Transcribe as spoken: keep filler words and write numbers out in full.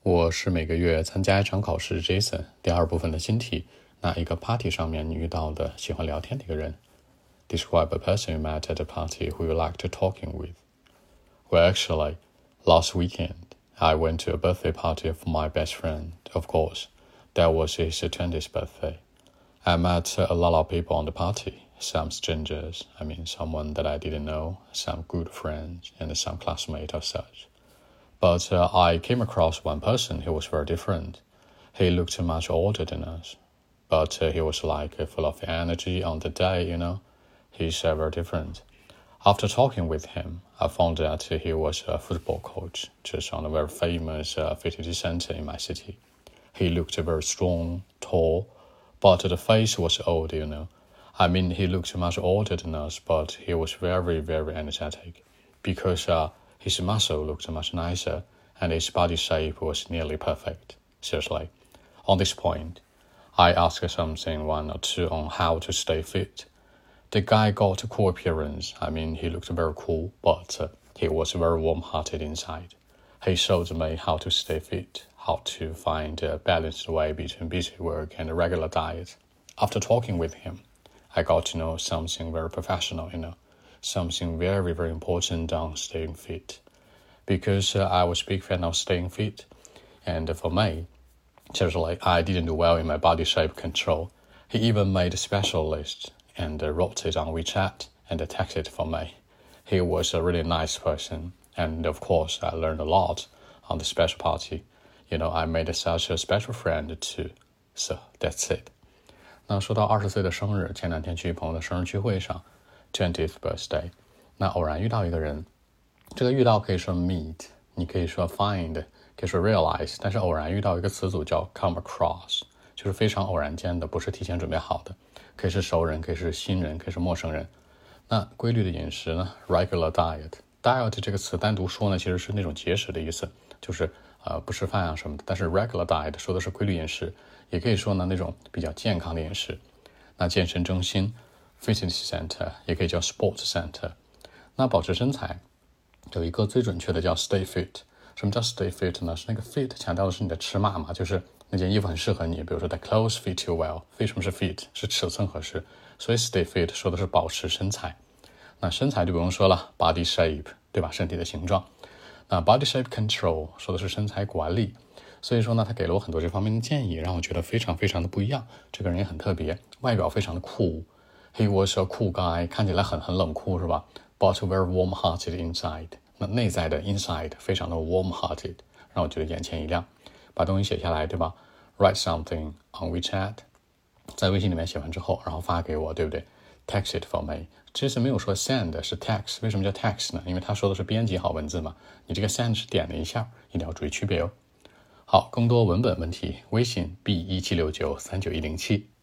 我是每个月参加一场考试 Jason 第二部分的新题，那一个 party 上面你遇到的喜欢聊天的一个人。Describe a person you met at a party who you liked talking with. Well, actually, last weekend, I went to a birthday party for my best friend. Of course, that was his twentieth birthday. I met a lot of people on the party, some strangers, I mean someone that I didn't know, some good friends, and some classmates or such.But uh, I came across one person who was very different. He looked much older than us, but uh, he was like uh, full of energy on the day, you know. He's uh, very different. After talking with him, I found that he was a football coach, just on a very famous uh, fitness center in my city. He looked very strong, tall, but the face was old, you know. I mean, he looked much older than us, but he was very, very energetic, because uh,His muscle looked much nicer, and his body shape was nearly perfect. Seriously. On this point, I asked something one or two on how to stay fit. The guy got a cool appearance. I mean, he looked very cool, but uh, he was very warm-hearted inside. He showed me how to stay fit, how to find a balanced way between busy work and a regular diet. After talking with him, I got to know something very professional, you know.Something very, very important on staying fit. Because uh, I was a big fan of staying fit. And for me, seriously, I didn't do well in my body shape control. He even made a special list and uh, wrote it on WeChat and texted it for me. He was a really nice person. And of course, I learned a lot on the special party. You know, I made such a special friend too. So that's it. 那说到二十岁的生日，前两天去朋友的生日聚会上twentieth birthday， 那偶然遇到一个人，这个遇到可以说 meet， 你可以说 find， 可以说 realize， 但是偶然遇到一个词组叫 come across， 就是非常偶然间的，不是提前准备好的，可以是熟人，可以是新人，可以是陌生人。那规律的饮食呢 regular diet， diet 这个词单独说呢，其实是那种节食的意思，就是呃不吃饭啊什么的，但是 regular diet 说的是规律饮食，也可以说呢那种比较健康的饮食。那健身中心Fitness Center 也可以叫 Sports Center。 那保持身材有一个最准确的叫 Stay Fit。 什么叫 Stay Fit 呢？是那个 fit 强调的是你的尺码嘛，就是那件衣服很适合你，比如说 The clothes fit you well。 为什么是 fit？ 是尺寸合适，所以 Stay Fit 说的是保持身材。那身材就不用说了， Body shape 对吧，身体的形状。那 Body shape control 说的是身材管理。所以说呢，他给了我很多这方面的建议，让我觉得非常非常的不一样。这个人也很特别，外表非常的酷。He was a cool guy， 看起来很很冷酷是吧？ But very warm-hearted inside。 那内在的 inside 非常的 warm-hearted， 让我觉得眼前一亮。把东西写下来对吧？ Write something on WeChat， 在微信里面写完之后，然后发给我，对不对？ Text it for me。 这次没有说 send， 是 text。 为什么叫 text 呢？因为他说的是编辑好文字嘛，你这个 send 是点了一下，一定要注意区别哦。好，更多文本问题，微信 b 一七六九三九一零七。